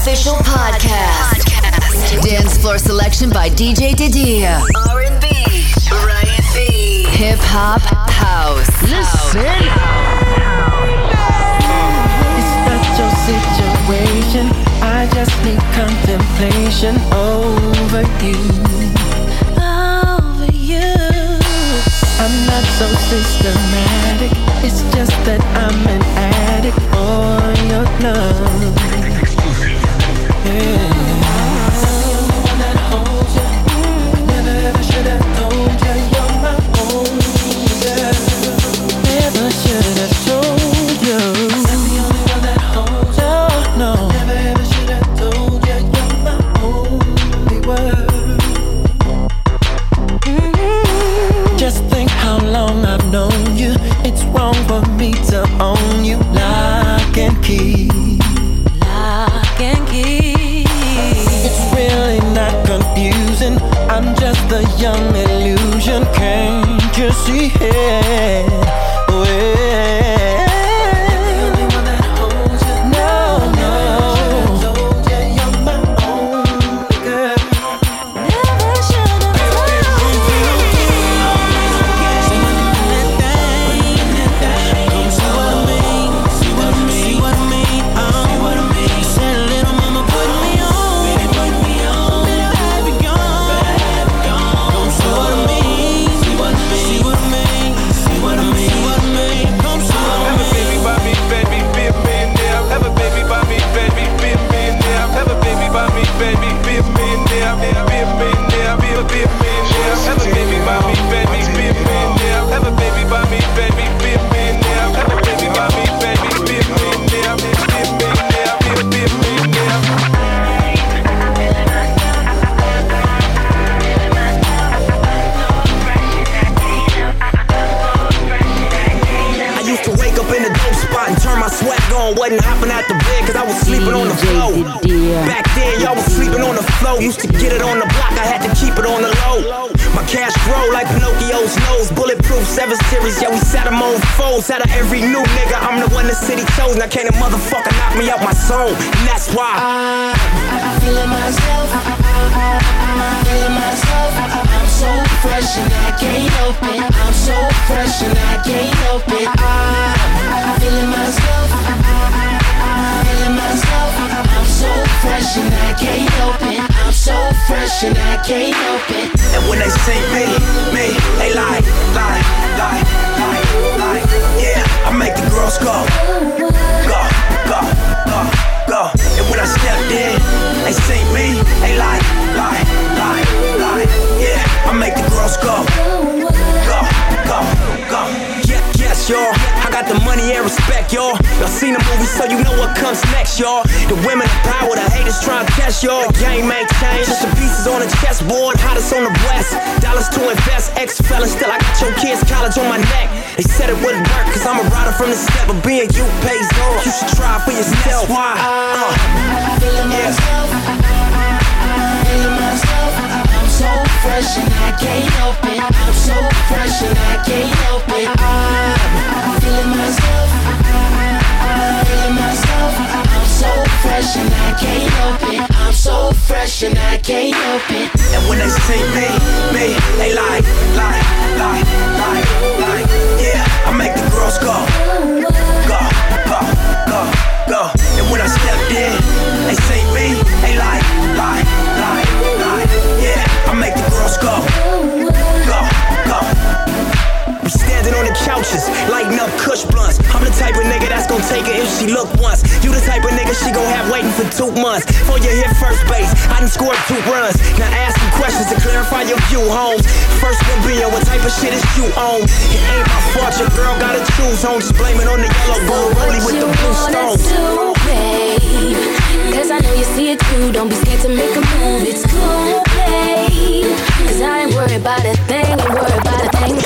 official podcast. Dance floor selection by DJ Didier. R&B, Ryan B. Hip hop, house. Listen. It's not your situation. I just need contemplation over you. Over you. I'm not so systematic. It's just that I'm an addict for your love. Yeah. The young illusion, can't you see it? Wasn't hopping out the bed cause I was sleeping on the floor. Back then y'all was sleeping on the floor. Used to get it on the block, I had to keep it on the low. My cash grow like Pinocchio's nose. Bulletproof 7 Series, yeah we sat them on foes. Out of every new nigga, I'm the one the city chose. Now can't a motherfucker knock me out my soul. And that's why I'm feeling myself. I'm feeling myself. I'm so fresh and I can't help it. I'm so fresh and I can't help it. I'm feeling myself. I'm feeling myself. I'm so fresh and I can't help it. I'm so fresh and I can't help it. And when they say me, they lie. Yeah, I make the girls go. And when I stepped in, they say me, they lie. Yeah, I make the girls go. Yes, y'all, I got the money and respect, y'all. Y'all seen the movie, so you know what comes next, y'all. The women in power, the haters trying to test y'all. The game ain't changed, just the pieces on the chessboard. Hottest on the west, dollars to invest. Ex-felon, still I got your kids' college on my neck. They said it wouldn't work, cause I'm a rider from the step. But being you pays off, you should try for yourself. Why? I'm feeling myself. I'm feeling myself. I'm so fresh and I can't help it. I'm so fresh and I can't help it. I'm feeling myself. I'm feeling myself. I'm so fresh and I can't help it. I'm so fresh and I can't help it. And when they say me, they lie. Yeah, I make the girls go. And when I stepped in, they say me, they lie. Yeah, I make the girls go. I'm standing on the couches, lighting up Kush blunts. I'm the type of nigga that's gon' take her if she look once. You the type of nigga she gon' have waiting for 2 months. Before you hit first base, I done scored 2 runs. Now ask some questions to clarify your view, Holmes. First one being, what type of shit is you own? It ain't my fault, your girl gotta choose on. Just blame it on the yellow bull, rolling with the blue stones. Cause I know you see it too. Don't be scared to make a move. It's cool, babe. Cause I ain't worried about a thing. Ain't worried about a thing.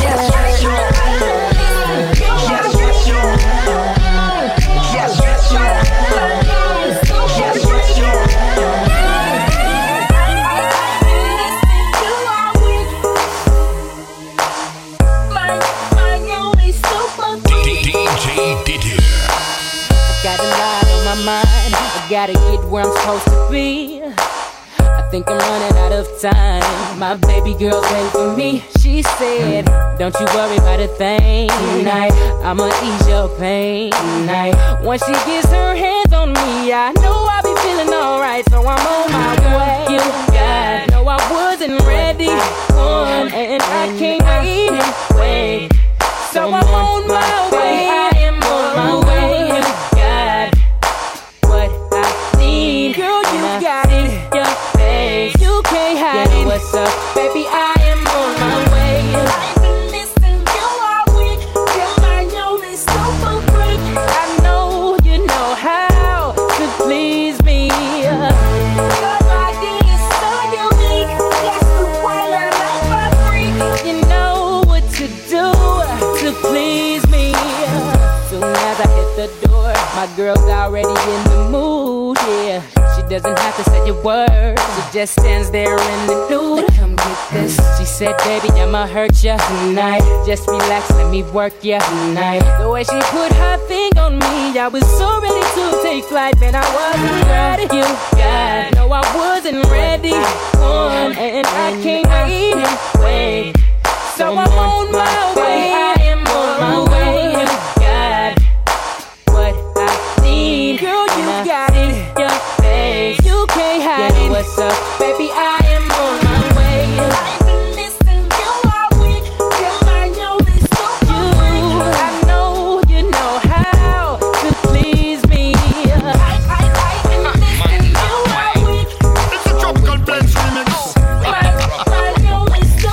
DJ Didier. Got a lot on my mind. I gotta get where I'm supposed to be. I think I'm running out of time. My baby girl's waiting for me. She said, don't you worry about a thing tonight. I'ma ease your pain tonight. Once she gets her hands on me, I know I'll be feeling alright. So I'm on my way. You got, no, I wasn't ready. And I can't wait. So I'm on my way. I am on my way. You got what I need. Girl, you got it. Your face, you can't hide it. What's up, baby? I am on my way. I've been listening to all week. Till I know this super freak. I know you know how to please me. Your body is so unique. That's the one I like my freak. You know what to do to please me. Soon as I hit the door, my girl's already in the mood, yeah. She doesn't have to say a word, she just stands there in the nude. Come get this. She said, baby, I'ma hurt ya tonight. Just relax, let me work ya tonight. The way she put her thing on me, I was so ready to take flight, man, I wasn't ready. You got, no, I wasn't ready. And I can't wait. So I'm on my way. I am on my way. You got what I need. Girl, you got it. Your face, you can't hide it. What's up, baby? I am on my way. I've been listening to all week. Till I know this so you. I know you know how to please me. I've been listening to all week. It's a Tropical Blends remix. I know it's so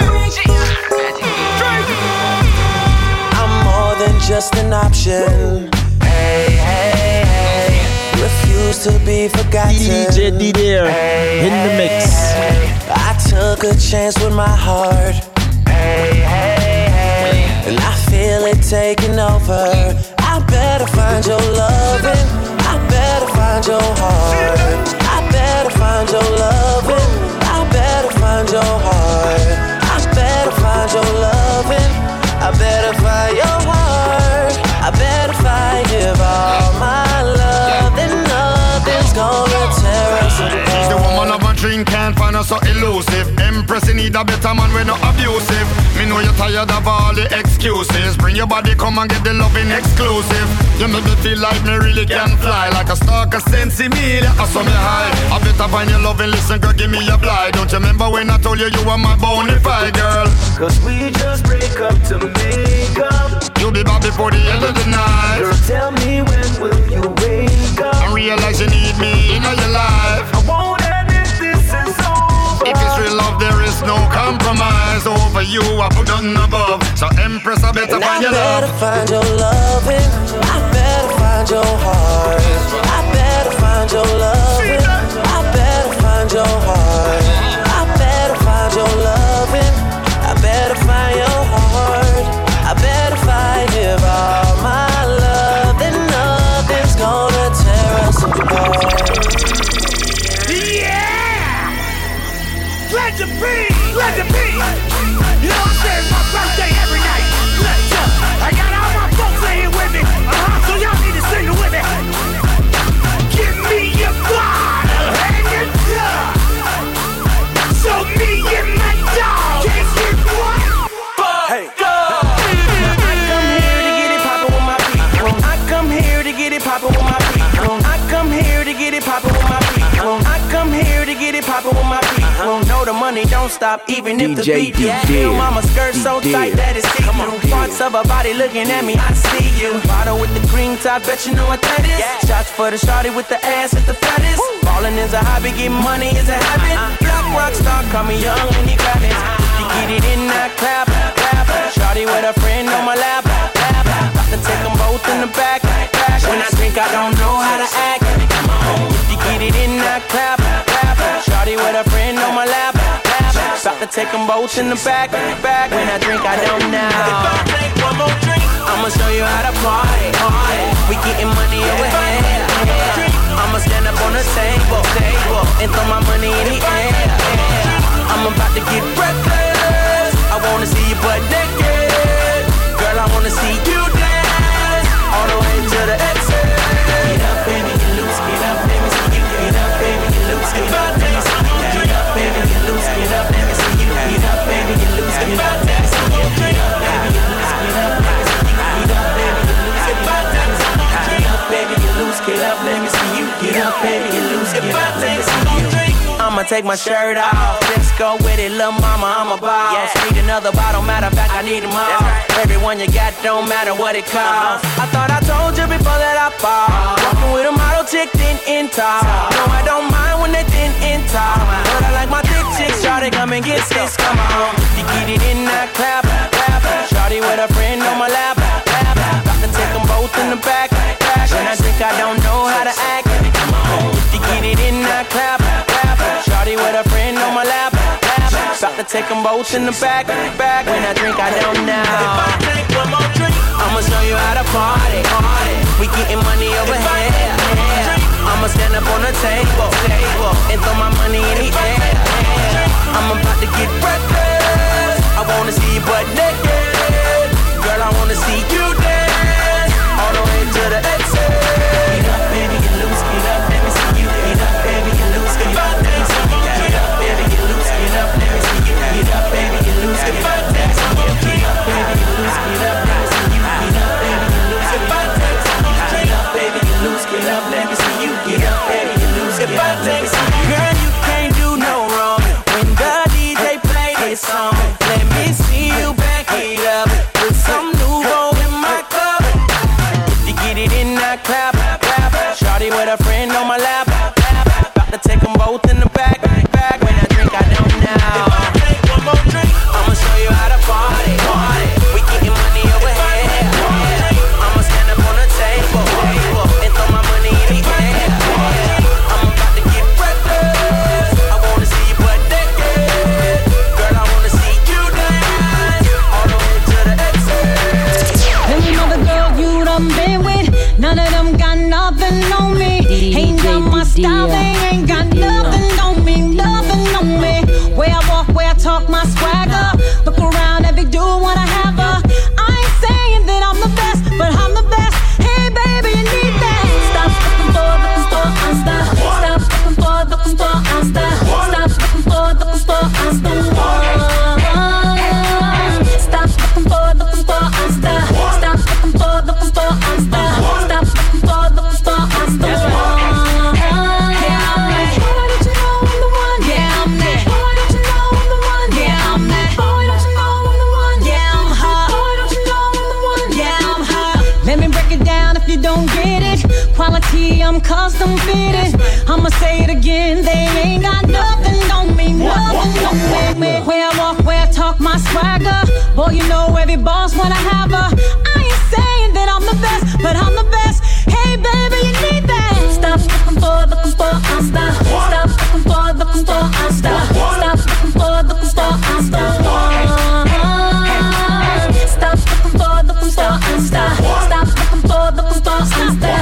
I'm more than just an option. Hey, hey, hey. Refuse to be forgotten. DJ Didier in the mix. I took a chance with my heart. Hey, hey, hey. And I feel it taking over. I better find your loving. I better find your heart. I better find your loving. I better find your heart. I better find your loving. I better find your heart. I better find give all my love. Then nothing's gonna tear us apart. She's the woman of my dream, can't find her so elusive. Empress, you need a better man, we're not abusive. Me know you're tired of all the excuses. Bring your body, come and get the loving exclusive. You make me feel like me really can fly. Like a stalker sensi me, I saw me high. I better find your loving, listen girl, give me a blind. Don't you remember when I told you you were my bonafide girl? Cause we just break up to make up. You'll be back before the end of the night. Girl, tell me when will you wake up? And realize you need me in your life. I won't admit this is over. If it's real love, there is no compromise. Over you, I put nothing above. So Empress, I better find your love. I better find your loving. I better find your heart. I better find your loving. I better find your heart. I better find your loving. I better find your heart. I better find give all my love. Then nothing's gonna tear us apart. Yeah! Let the beat! Let the beat! You know what I'm saying? It's my birthday every night. I got all my folks in here with me. So y'all need to sing it with me. Give me your bottle and your dog. So me and my dog can get one. Hey, I come here to get it poppin' with my people. I come here to get it poppin' with my people. I come here to get it poppin' with my people. I come here to get it poppin' with my people. No, the money don't stop even if the beat do. Feel mama skirt so tight that it's see-through. Parts of her body looking at me, I see you. Bottle with the green top, bet you know what that is. Shots for the shawty with the ass at the fattest. Ballin' is a hobby, getting money is a habit. Black rock star, call me young and he got it. You get it in that clap, clap. Shawty with a friend on my lap, lap. About to take them both in the back, back. When I drink, I don't know how to act. If you get it in that clap, clap. Shawty with a friend on my lap, lap. About to take them both in the back, back. When I drink, I don't know. If I take one more drink, I'ma show you how to party. We getting money over here. I'ma stand up on the table and throw my money in the air. I'm about to get reckless. I wanna see you butt naked. Girl, I wanna see you dance all the way to the exit. Get up and I'ma take my shirt off. Let's go with it, lil' mama, I'm a boss. Need another bottle, matter of fact, I need them all. Everyone you got don't matter what it costs. I thought I told you before that I fall. Walking with a model chick, thin in top. No, I don't mind when they thin in top. But I like my thick chicks, shawty, come and get this, come on. You get it in that clap, clap. Shawty with a friend on my lap, lap. Got to take them both in the back, back. When I drink, I don't know how to act. Come on, you get it in that clap, clap. Shawty with a friend on my lap, lap. Got to take them both in the back, back. When I drink, I don't know. If I take one more drink, I'ma show you how to party, party. We getting money over here, I'ma stand up on the table, and throw my money in the air. I'm about to get reckless. I wanna see you butt naked. Girl, I wanna see you dance all the way to the exit. Get up, baby, get loose, get up, let me see you. Get up, baby, get loose, get up, let me see you. Get up, baby, get loose, get up, let me see you. Get up, baby, get loose, get up, let me see you. Get up, baby, get loose, get up, let me see you. Get up, baby, get loose, get up, let me see you. Get up, baby, get loose, get up, let me see you. Get up, baby, get loose, get up, let me see you. Girl, you can't do no wrong when the DJ play this song. Let me see you back it up with some Nouveau in my cup. If you get it in that clap, clap. Shawty with a friend on my lap, lap. About to take them both in the back, back. When I drink, I don't know. If I take one more drink, I'ma show you how to party, party. We getting money over here. I'ma stand up on the table, and throw my money in the air. I'm about to get reckless. I wanna see you butt naked. Girl, I wanna see you dance all the way to the exit. Them other girls you done been with, none of them got nothing on me. Ain't got my style, they ain't got nothing on me, nothing on me. Where I walk, where I talk, my swagger. Look around, every dude wanna have her. I ain't saying that I'm the best, but I'm the best. Hey baby, you need that. Stop looking for, Insta. Stop looking for, Insta. Stop looking for, Insta. Stop looking for, Insta. Stop looking for, Insta. Stop looking for, Insta. That's right. Quality, I'm custom fitted. I'ma say it again, they ain't got nothing on me, nothing on me. Where I walk, where I talk, my swagger. Boy, you know every boss wanna have her. I ain't saying that I'm the best, but I'm the best. Hey baby, you need that. Stop looking for, Insta. Stop looking for, Insta. Stop looking for, Insta. Stop looking for, Insta. Stop looking for, Insta.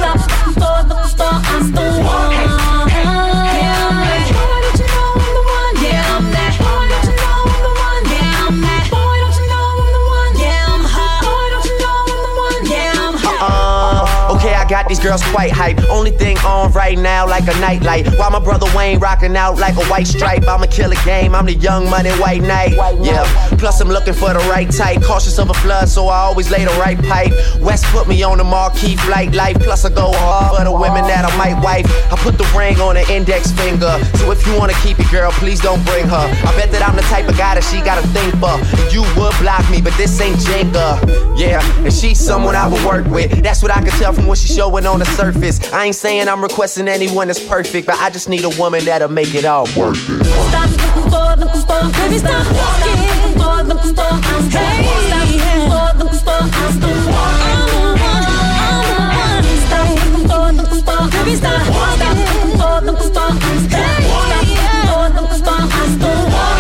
I got these girls quite hype. Only thing on right now like a nightlight. While my brother Wayne rocking out like a white stripe. I'ma kill a game, I'm the young money white knight. Yeah, plus I'm looking for the right type. Cautious of a flood, so I always lay the right pipe. West put me on the marquee flight life. Plus I go hard for the women that I might wife. I put the ring on her index finger. So if you wanna keep it, girl, please don't bring her. I bet that I'm the type of guy that she got to think for. You would block me, but this ain't Jenga. Yeah, and she's someone I would work with. That's what I can tell from what she's showing on the surface. I ain't saying I'm requesting anyone that's perfect, but I just need a woman that'll make it all worth it. Stop looking for, baby, stop walking. Hey, stop looking for, I'm the one. Stop looking for, baby, stop walking. Hey, stop looking for, I'm the one.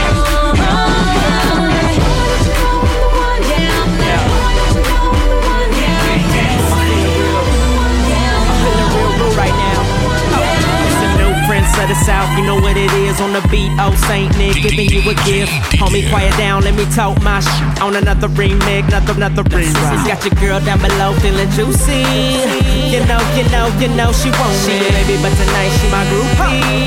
Of the South, you know what it is on the beat. Oh, Saint Nick giving you a gift. Homie, quiet down, let me talk my shit on another remix, another remix. Got your girl down below feeling juicy. You know she wants me, baby, but tonight she my groupie.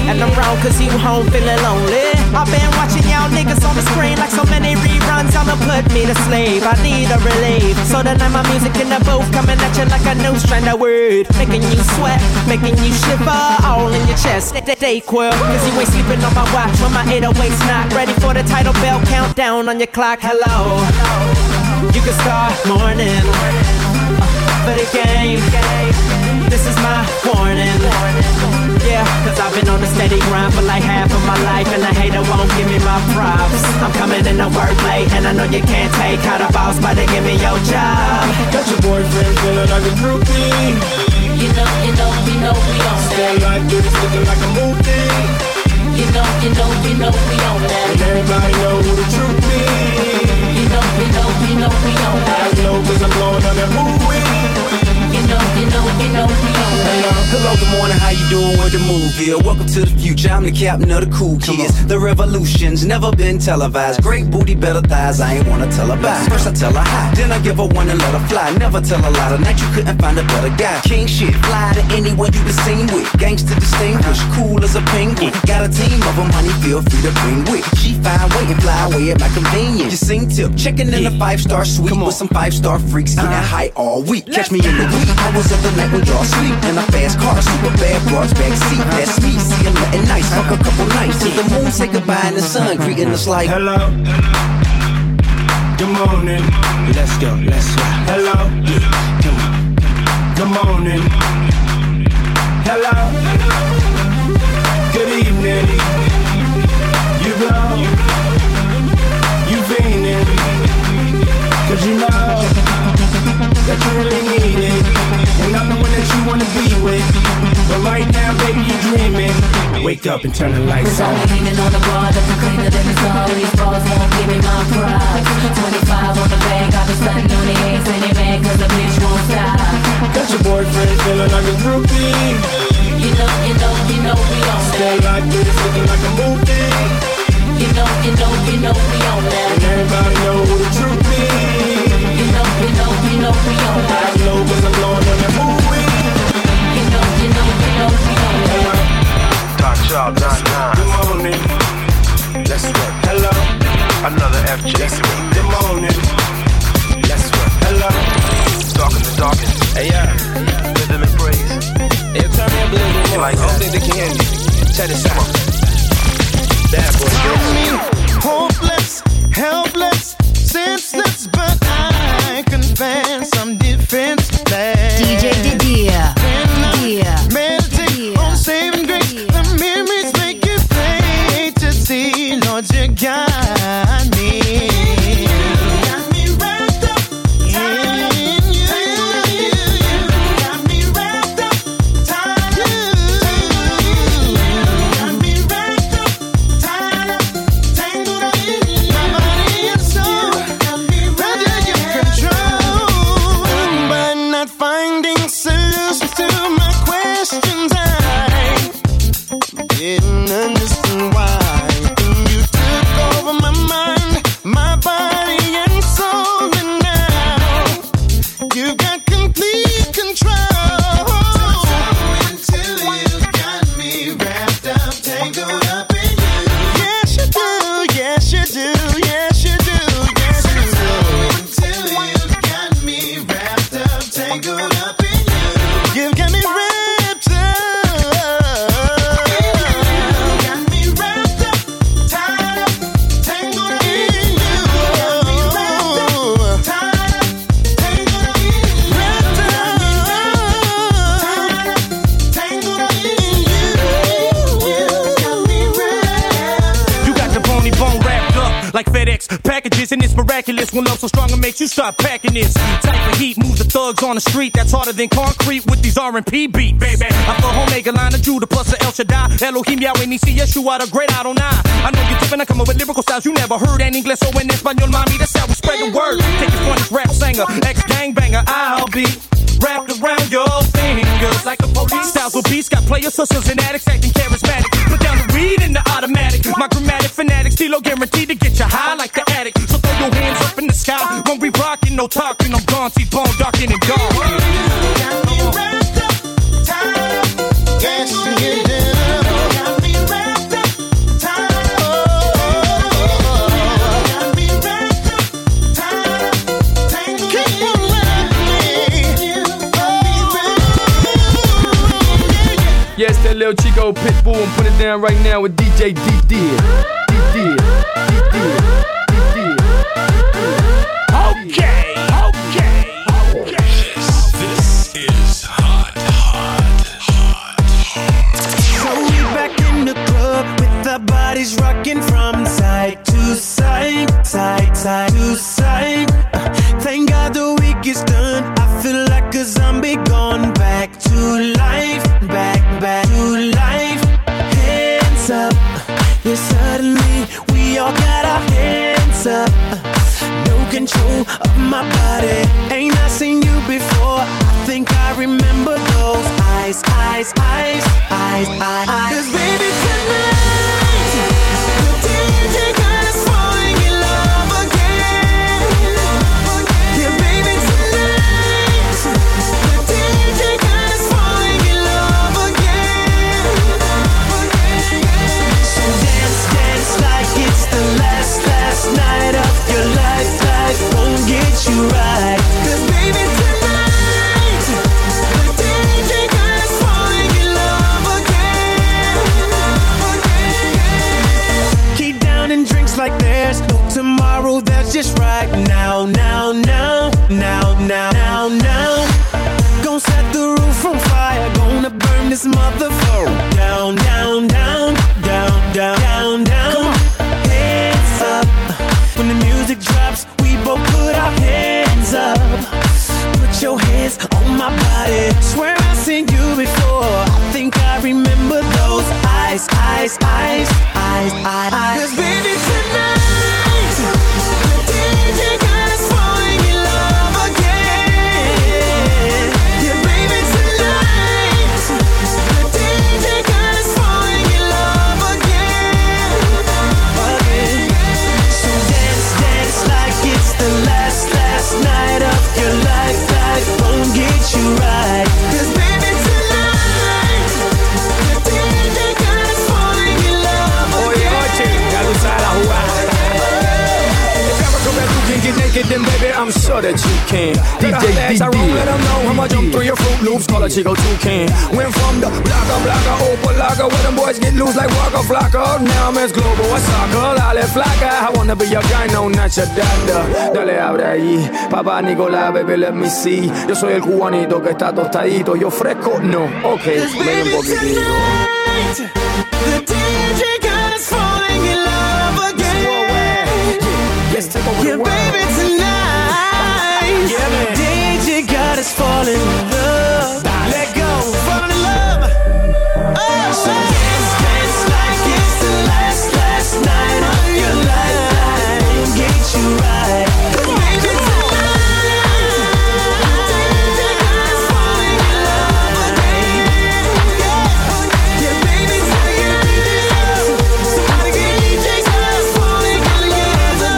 And I'm wrong cause you home feeling lonely. I've been watching y'all niggas on the screen like so many reruns. I'ma put me to sleep, I need a relief. So tonight my music in the booth coming at you like a new strand of word. Making you sweat, making you shiver, all in your chest. Stay quill, cause you ain't sleeping on my watch when my 808's not ready for the title bell countdown on your clock. Hello, you can start morning for the game. This is my warning. Yeah, cause I've been on a steady grind for like half of my life, and the hater won't give me my props. I'm coming in to work late, and I know you can't take how the boss about to give me your job. Got your boyfriend feeling like a groupie. You know we on that. Stand like this, looking like a movie. You know we on that. And everybody know who the truth is. You know we on that. I know cause I'm blowing on that movie. You know we on that. Hello, good morning, how you doing? Where the move here? Welcome to the future, I'm the captain of the cool kids. The revolution's never been televised. Great booty, better thighs, I ain't wanna tell her bye. First I tell her hi, then I give her one and let her fly. Never tell a lie, tonight you couldn't find a better guy. King shit, fly to anyone you been seen with. Gangsta distinguished, cool as a penguin. Got a team of them, honey, feel free to bring with. She fine, wait and fly away at my convenience. You sing tip, checking in a 5-star suite with some 5-star freaks, getting high all week. Catch me in the wee hours of the night when y'all sleep. In a fast car, super bad broads backseat. That's me, see I'm nothing nice. Fuck a couple nights till the moon say goodbye and the sun greeting us like hello. Good morning. Let's go. Hello. Good morning. Hello. Good evening. You blow. You fiending. Cause you know that you really need it. And I'm the one that you wanna be with. But right now, baby, you dreaming. Wake up and turn the lights on. I'm leaning on the bar, looking cleaner than the star. These bars won't give me my pride. 25 on the bag, I've been stunting on the ass. And they mad cause the bitch won't stop. Got your boyfriend feeling like a groupie. You know we on that. Stay like this, looking like a movie. You know we on that. And everybody know who the truth is. You know we on that. I know cause I'm blowing on that movie. You know we on that. Talk y'all, Don. Good morning. Let's work. Hello. Another FJ. Good morning. Let's work. Hello. Talking. Hey, yeah. Rhythm and praise. Hey, turn me up a little bit more. Like I don't think they can hear me. Check this out. Bad boy. Hopeless, helpless, senseless, but I confess I'm defenseless. DJ Didia. Meditate on saving grace. The memories make it plain to see. Lord, you got me. Got me wrapped up in you. Got me wrapped up tied up. Got me wrapped up tied up, tangled up in you. My body and soul got me under your control, but not finding solutions to my questions. I didn't understand why. You took over my mind, my body and soul, and now you got complete control. Until you got me wrapped up, tangled up in you. Yes you do, yes you do, yes you do, yes you do. Until you got me wrapped up, tangled up in you. You've got me wrapped up. Got me wrapped up, tied up, tangled up in you. Got me wrapped up, tied up, tangled up in you. Wrapped up, tangled up in you. Got me wrapped. You got the bony bone wrapped up like FedEx packages, and it's miraculous when love so strong it makes you start packing this. Type of heat moves the thugs on the street that's harder than concrete with these R&P beat, baby. I feel Omega line of Judah plus the El Shaddai, Elohim Yahweh Nisi Yeshua the great Adonai. I know you're tipping, I come up with lyrical styles you never heard. En inglés o en español, mami, that's how we spread the word. Take it from this rap singer, ex-gangbanger, I'll be wrapped around your fingers like the police. Styles will beats, got players, hustlers, and addicts acting charismatic. Put down the weed in the automatic. My grammatic fanatic, stilo guaranteed to get you high like the addict. So throw your hands up in the sky when we rockin', no talking. I'm gone, T-bone, darkin' and dark. Got me wrapped up, tied up, yes you do. Got me Lil Chico Pitbull and put it down right now with DJ D-Dear. Okay. This is hot. So we back in the club with our bodies rocking from side to side, side to side. Thank God the week is done. I feel like a zombie gone back to life, back to life. Hands up, yeah, suddenly we all got our hands up. No control of my body. Ain't I seen you before? I think I remember those eyes. Cause baby tonight, the DJ got us falling in love again. Yeah, baby tonight, the DJ got us falling in love again. So dance like it's the last night of your life. Life won't get you right. Cause baby tonight, the DJ got us falling in love again. Keep down and drinks like there's no tomorrow, that's just right now. Gon' set the roof on fire, gonna burn this motherfucker down. Come on, hands up. When the music drops, we both put our hands up. Put your hands on my body. Swear I've seen you before. I think I remember those eyes. Cause baby tonight, the DJ got us falling in love again. Yeah, baby tonight, the DJ got us falling in love again. So dance like it's the last night of your life. Life won't get you right. Cause baby tonight, the DJ got us falling in love again. Oye, ya tú sabes la jugada. Get naked, then baby, I'm sure that you can. DJ D. I let them know how much I'm through your Fruit Loops. Call a Chico Toucan. Went from the blocker, open locker, where them boys get loose like Waka Flocka. Now I'm as global as soccer. Dale flaca, I wanna be your guy, no, not your dada. Dale, abre ahí, papá Nicolás, baby, let me see. Yo soy el cubanito que está tostadito. Yo fresco, no, ok, ven un poquitito. The DJ got us falling in love again. Yeah, baby, tonight, the DJ got us falling in love. Let go, fall in love. Oh, so dance like it's the last night of your life. Get you right. Baby, tonight, the DJ got us falling in love again. Yeah, baby, tonight, somebody get DJ got us falling in love again.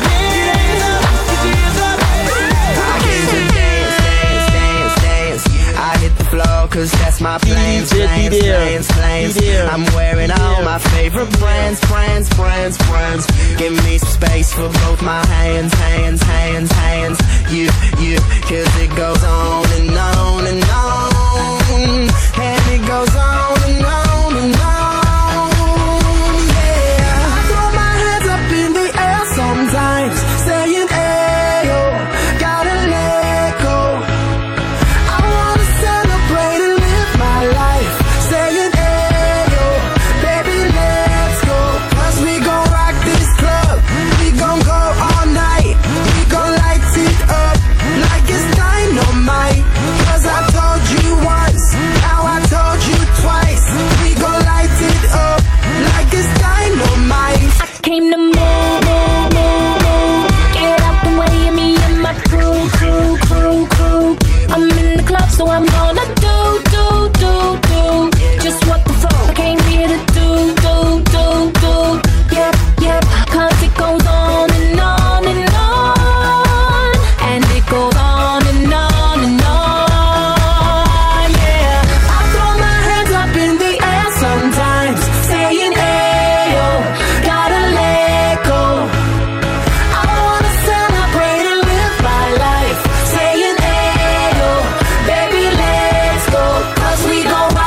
Cause that's my plans. I'm wearing all my favorite brands. Give me some space for both my hands. You, cause it goes on and on and on. And it goes on and on and on. Yeah, I throw my hands up in the air sometimes, saying, ayo, gotta let go. I wanna celebrate and live my life, saying, ayo, baby, let's go. Cause we gon' rock this club, we gon' go all night. We gon' light it up like it's dynamite. Cause I told you once, now I told you twice. We gon' light it up like it's dynamite. I came to move. Get out the way of me and my crew. I'm in the club, so I'm gonna do just what the fuck I came here to do. Yep, cause it goes on and on and on. And it goes on and on and on. Yeah, I throw my hands up in the air sometimes, saying, ayo, gotta let go. I wanna celebrate and live my life, saying, ayo, baby, let's go. Cause we gon'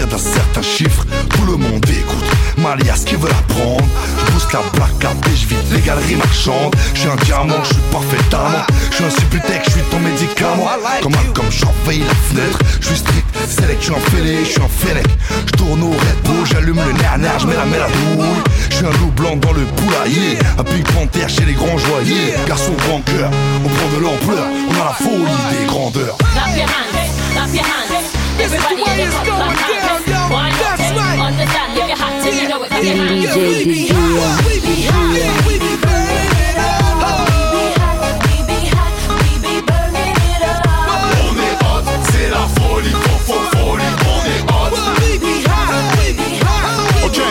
partir d'un certain chiffre, tout le monde écoute. Malias qui veut la prendre, je booste la black cap et je vide les galeries marchandes. Je suis un diamant, je suis parfait amant. Je suis un suputec, je suis ton médicament. Comme j'envahis la fenêtre, je suis strict, select, je suis un fêlé, je suis un fennec. Je tourne au Red Bull, j'allume le nerf, je mets la douille. Je suis un loup blanc dans le poulailler, un Pink Panther chez les grands joailliers. Garçon grand cœur, on prend de l'ampleur, on a la folie des grandeurs. Clap your hands, clap your hands. Everybody in the club, clap your hands. Why not? Understand if you're hot till you know it. Clap your hands. We be hot, we be hot, we be burning it up. We be hot, we be burning it up. On est hot, c'est la folie, folie. On est hot. We be hot, we be hot. Ok,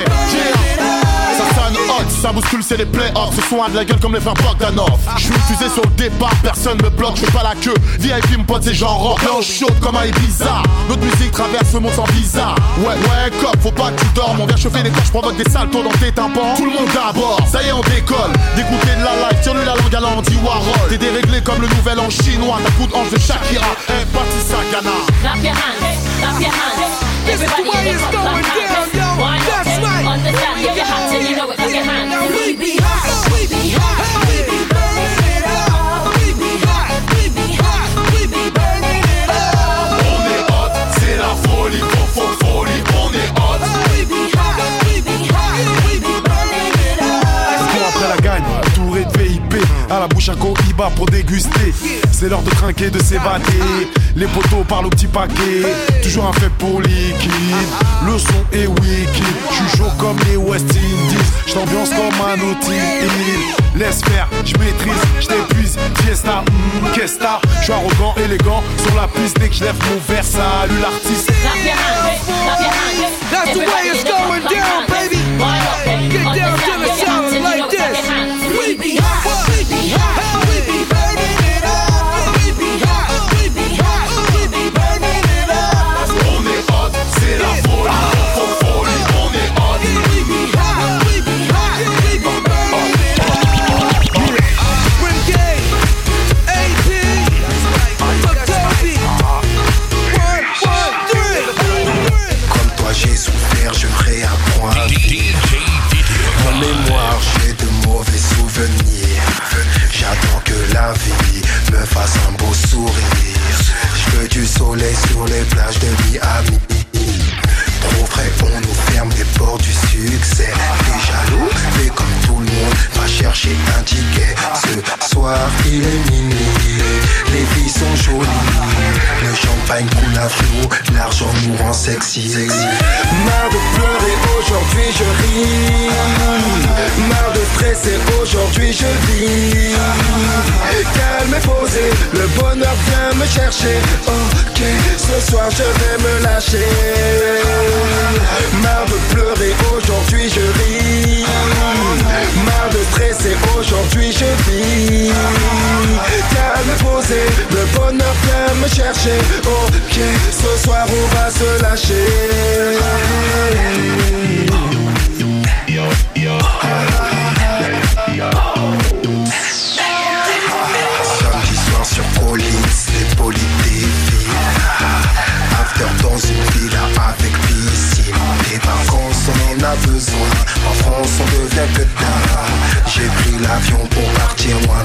ça sonne hot, ça bouscule, c'est les play-offs. Ce son a de la gueule comme les frères Bogdanov. Je suis fusé sur le départ, personne me bloque, je fais pas la queue. VIP me pote, c'est genre rock, blanche chaude comme un Ibiza. Notre musique traverse le monde sans visa. Ouais, cop, faut pas que tu dormes. On vient chauffer les corps, je provoque des saltos dans tes tympans. Tout le monde d'abord, ça y est, on décolle. Dégoûté de la life, tire-lui la langue à l'Andy Warhol. T'es déréglé comme le nouvel an chinois. Ta coup de hanche de Shakira, parti ça, Ghana. Clap your hands, clap your hands. Everybody in the club, clap your hands. Why not? Understand if you're hot till you know it. Clap your hands. We be hot, we be hot, we be burning it up. We be hot, we be hot, we be burning it up. On est hot, c'est la folie, folie. On est hot. We be hot, we be hot, we be burning it up. Après la gagne, entouré de VIP, à la bouche un cohiba pour déguster. C'est l'heure de trinquer, de s'évader. Les poteaux parlent au petit paquet. Toujours un fait pour liquide. Le son est wicked. J'suis chaud comme les West Indies. J't'ambiance comme un Naughty Hill. Laisse faire, j'maîtrise, j't'épuise. Fiesta, qu'esta. J'suis arrogant, élégant. Sur la piste dès que j'lève mon verre. Salut l'artiste. That's the way it's going down, baby. Get down to the sound like this. We be hot, we be hot, we be burning it up. We be hot, we be hot, we be burning it up. On est hot, c'est la folie. On est hot. We be hot, we be hot, we be burning it up. Renegade, AP, Toby, 1, 2, 3. Comme toi j'ai souffert, je réapprends à vivre. En mémoire, j'ai de mauvais souvenirs. J'attends que la vie me fasse un beau sourire. Je veux du soleil sur les plages de Miami. Trop frais, on nous ferme les portes du succès. T'es jaloux, mais comme tout le monde, va chercher un ticket. Ce soir, il est minuit, les filles sont jolies. Le champagne coule à flot, l'argent nous rend sexy. Marre de pleurer, aujourd'hui je ris. Marre de stresser, aujourd'hui je vis. Calme et posé, le bonheur vient me chercher. Ok, ce soir je vais me lâcher. Marre de pleurer, aujourd'hui je ris. Marre de stresser, aujourd'hui je vis. Calme et posé, le bonheur vient me chercher. Ok, ce soir on va se lâcher. Samedi soir sur Collins, les polis défilent. After dans une villa avec piscine. Les vacances on en a besoin. En France on devient que tard. J'ai pris l'avion pour partir loin,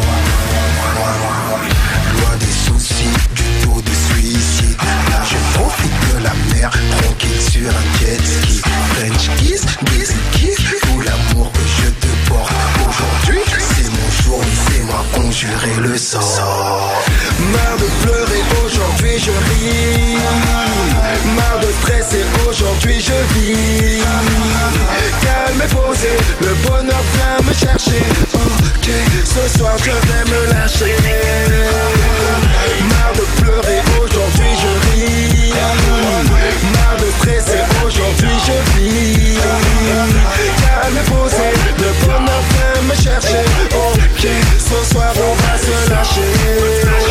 loin des soucis, du taux de suicide. Là je profite de la mer, tranquille sur un jet ski. French kiss, tout l'amour que je te porte. Aujourd'hui c'est mon jour, laissez-moi conjurer le sort. Marre de pleurer, aujourd'hui je ris. Marre de stresser, aujourd'hui je vis. Calme et posé, le bonheur vient me chercher. Ok, ce soir je vais me lâcher. Marre de pleurer, aujourd'hui je ris. Marre de stresser, aujourd'hui je vis. Calme et posé, le bonheur vient me chercher. Ok, ce soir on va se lâcher.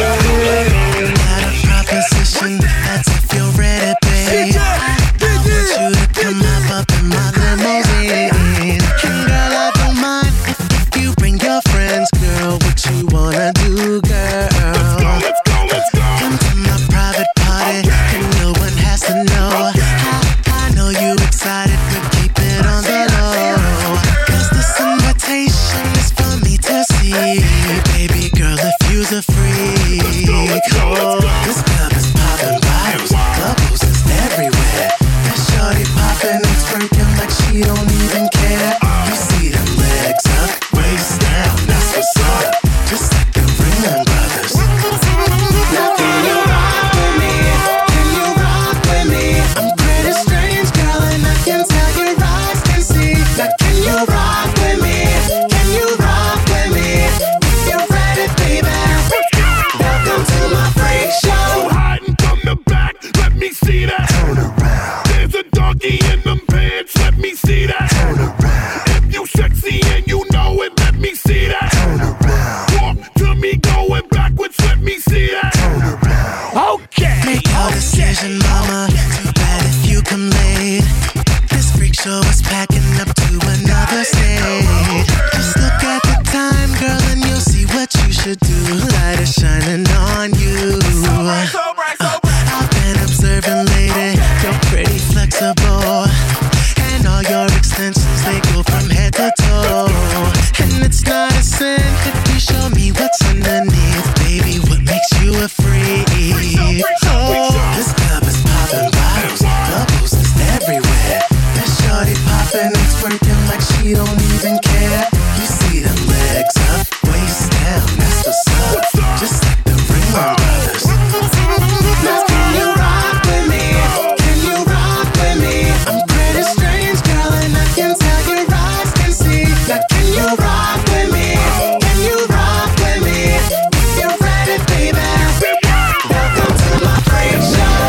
who's a freak. Oh, this club is popping bottles, bubbles is everywhere. That shorty popping, it's freaking like she don't even care. You see them legs up, waist down, that's what's up. Just like the Ringling Brothers. Now can you rock with me? Can you rock with me? I'm pretty strange, girl, and I can tell your eyes can see. Now can you rock with me? Can you rock with me? If you're ready, baby. Welcome to my freak show. Hiding from the back, let me see that. Turn around. There's a doggy in them pants, let me see that. Turn around. If you sexy and you know it, let me see that. Turn around. Walk to me going backwards, let me see that. Turn around. Okay. Make your decision, mama. Too bad if you come late. This freak show is packing up to another stage. Just look at the time, girl, and you'll see what you should do. Light is shining on you. I've been observing, lady. You're pretty flexible, and all your extensions, they go from head to toe. And it's not a sin if you show me what's underneath, baby. What makes you a freak? Oh, this club is popping bottles, bubbles is everywhere. That shorty popping, it's working like she don't even care. You see them legs up, waist down, that's what's up. Just like the Ringling Brothers. Now can you rock with me? Can you rock with me? I'm pretty strange, girl, and I can tell your eyes can see. Now can you rock with me? Can you rock with me? If you're ready, baby. Welcome to my freak show.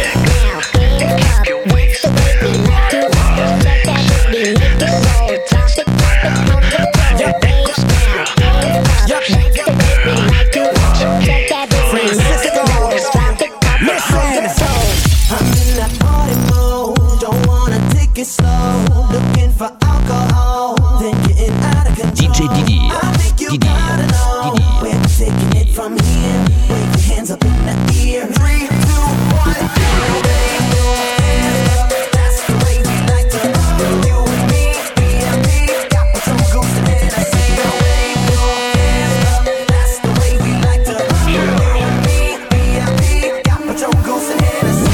I'm in that party mode, don't wanna take it slow. Looking for alcohol, then getting out of control. DJ Didier. I think you gotta know where we're taking it from here. Wave your hands up in the air. 3, 2, 1. Wave your hands up, that's the way we like to roll. You and me, B&B, got some goose and Hennessy. Wave your hands up, that's the way we like to roll. You and me, B&B, got some goose and Hennessy.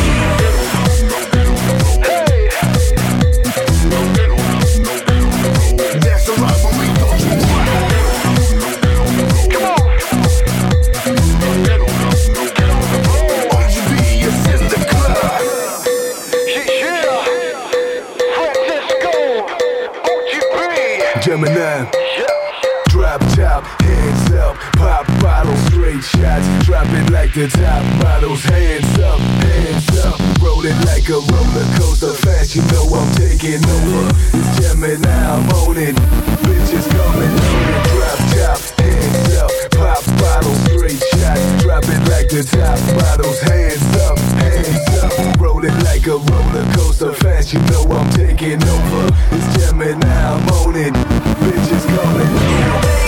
That's a rock when we don't you want. Come on. OGB is in the club. Yeah. Francisco. OGB. Gemini. Drop top, hands up, pop bottles, straight shots, drop it like the top models, hands up, roll it like a roller coaster, fast, you know I'm taking over, it's Gemini, I'm on it, bitches coming on it, drop top, hands up, pop bottles, straight shots, drop it like the top models, hands up, roll it like a roller coaster, fast, you know I'm taking over, it's Gemini, I'm on it, bitches coming on it.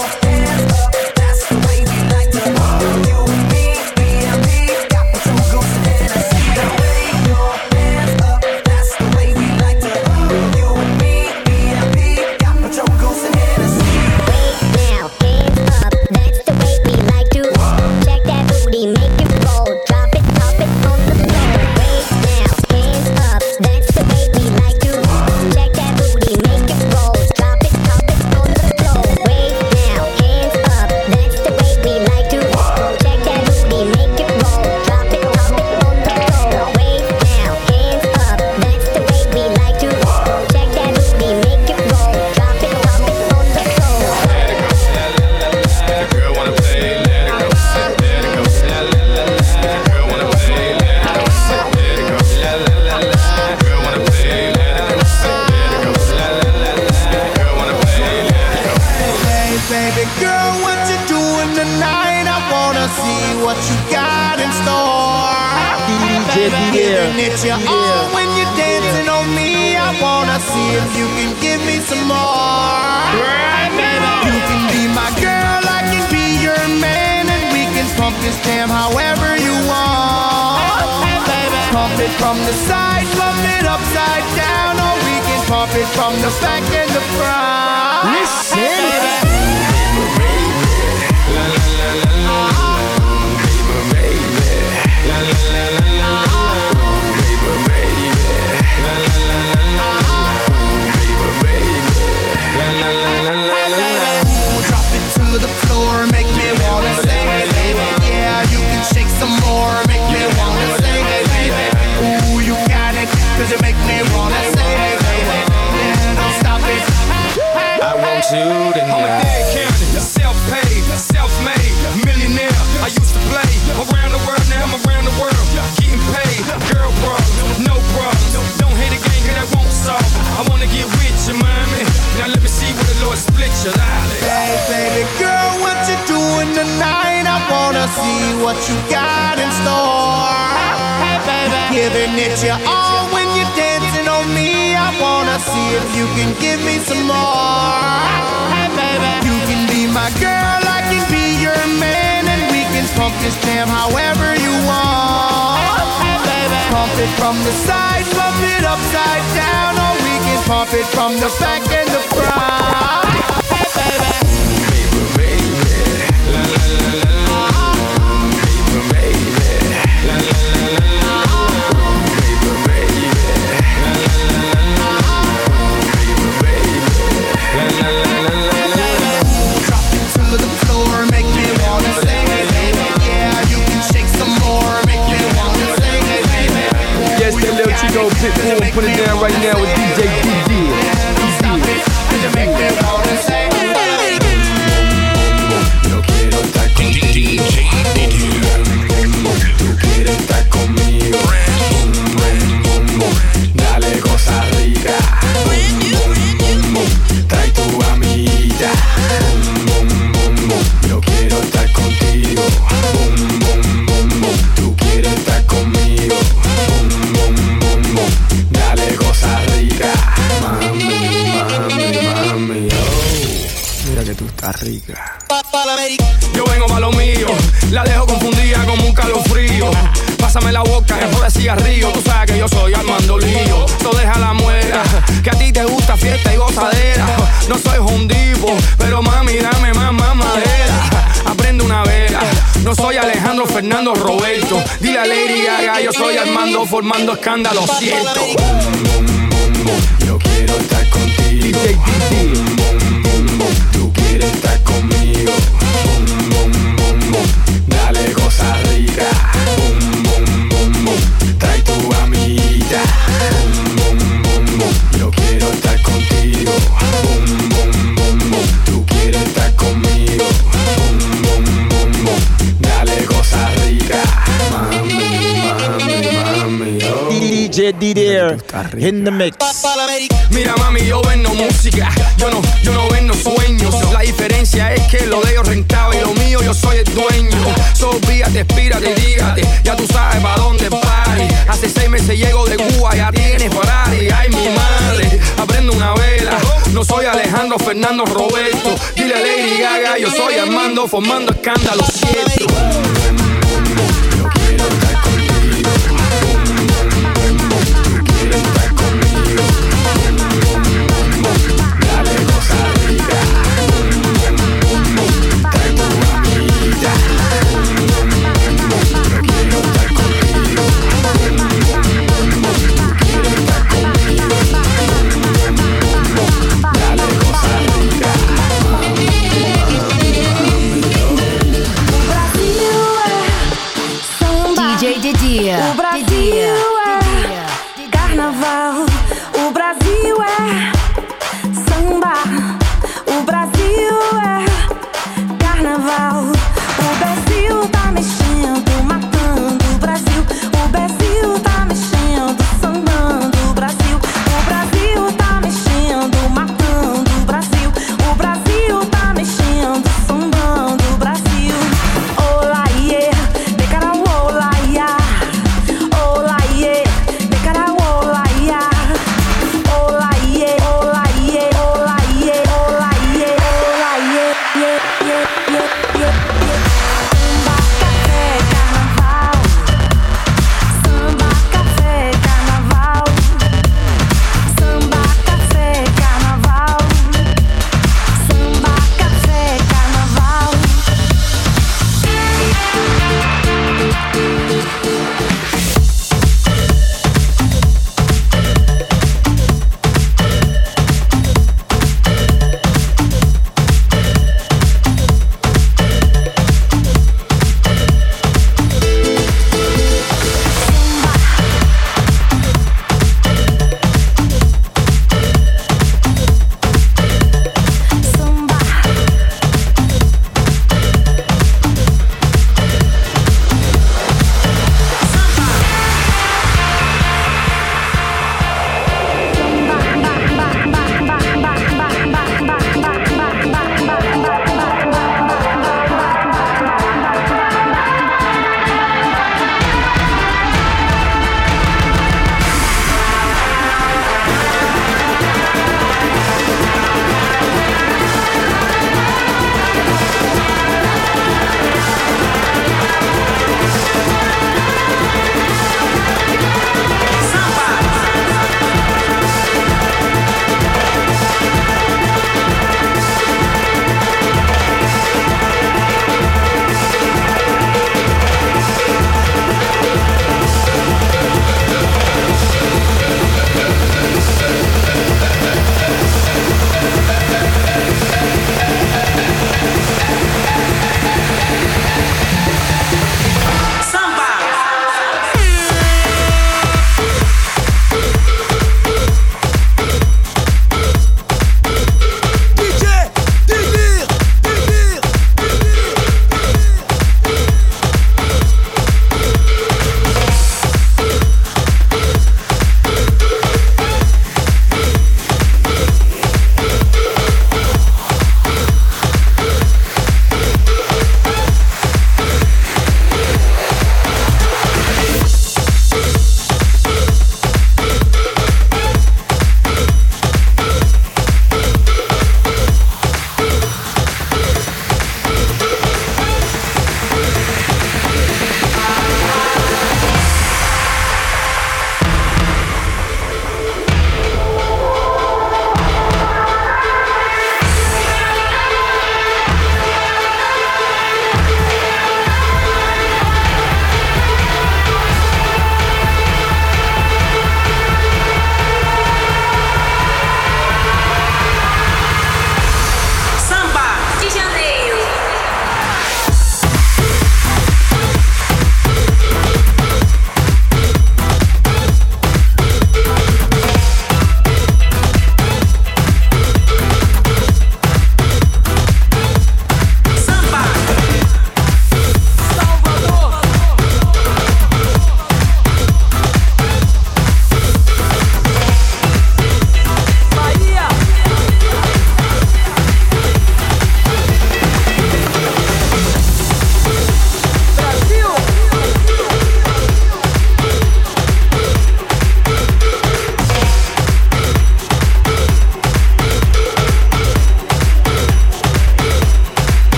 It's your all when you're dancing on me. I wanna see if you can give me some more. Right, baby. You can be my girl, I can be your man, and we can pump this jam however you want. Baby, pump it from the side, pump it upside down, or we can pump it from the back and the front. Listen. La, la, la, la, la. see what you got in store. Hey baby, giving it your all when you're dancing on me. I wanna see if you can give me some more. Hey baby, you can be my girl, I can be your man, and we can pump this jam however you want. Hey baby, pump it from the side, pump it upside down, or we can pump it from the back and the front. Hey baby. Chico Pitbull, put it down right now with DJ DD. Yo quiero estar contigo. Tú quieres estar conmigo. Dale cosa rica. Trae tu amiguita. Yo quiero estar contigo. Tú quieres estar conmigo. Dale cosa rica. Mami, oh. Mira que tú estás rica. Yo vengo pa' lo mío, la dejo confundida como un calofrío. Pásame la boca, es de cigarrillo. Tú sabes que yo soy Armando Lío. So deja la muela, que a ti te gusta fiesta y gozadera. No soy hondipo, pero mami dame más madera. Aprende una vela, no soy Alejandro Fernando Roberto. Dile a Lady Gaga, yo soy Armando formando escándalo, cierto. Yo quiero estar contigo. Tú quieres estar conmigo. Dale cosa rica. Trae tu amiguita. Yo quiero estar contigo. Tú quieres estar conmigo. Dale cosa rica. Mami, oh. DJ Didier in the mix. Mira mami, yo vendo música, yo no vendo sueños. La diferencia es que lo de ellos rentable y lo mío yo soy el dueño. So víate, espírate, dígate, ya tú sabes pa' dónde pari. Hace 6 meses llego de Cuba, ya tienes Ferrari. Ay mi madre, aprendo una vela. No soy Alejandro Fernando Roberto. Dile a Lady Gaga, yo soy Armando formando escándalo, cierto. Yo quiero estar contigo. Tú quieres estar conmigo. Dale cosa rica. Trae tu amiguita. Yo quiero estar contigo. Tú quieres estar conmigo. Dale cosa rica. Brasil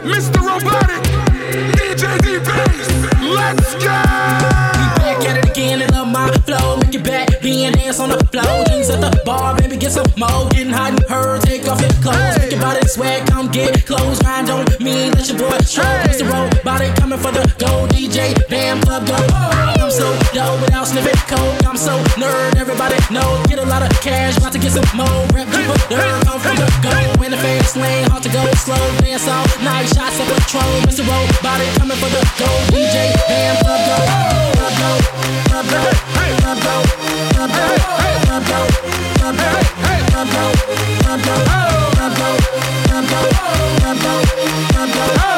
Mr. Robotic, DJ D-Bass, let's go! Back at it again and love my flow. Make it back, being dance on the floor. Drinks at the bar, baby, get some more. Getting hot and her, take off your clothes. Think about it, swag, come get clothes. Grind don't mean let your boy show. Mr. Robotic coming for the gold. DJ, bam, club, go. I'm so dope without sniffing coke. I'm so nerd, everybody know. Get a lot of cash, about to get some more. Rep, keep up, nerd, come from the go. In the fast lane, hard to go slow. Dance all night, shots of Patron. Mr. Robotic coming for the gold. DJ, bam, club, go. Club, go. Club, go. Club, go. Club, go. Club, go. Club, go. Club, go. Club, go. Club, go. Club, go. Club, go. Club, go.